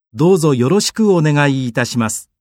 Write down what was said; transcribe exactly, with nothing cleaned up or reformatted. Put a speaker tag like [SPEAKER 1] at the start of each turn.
[SPEAKER 1] どうぞよろしくお願いいたします。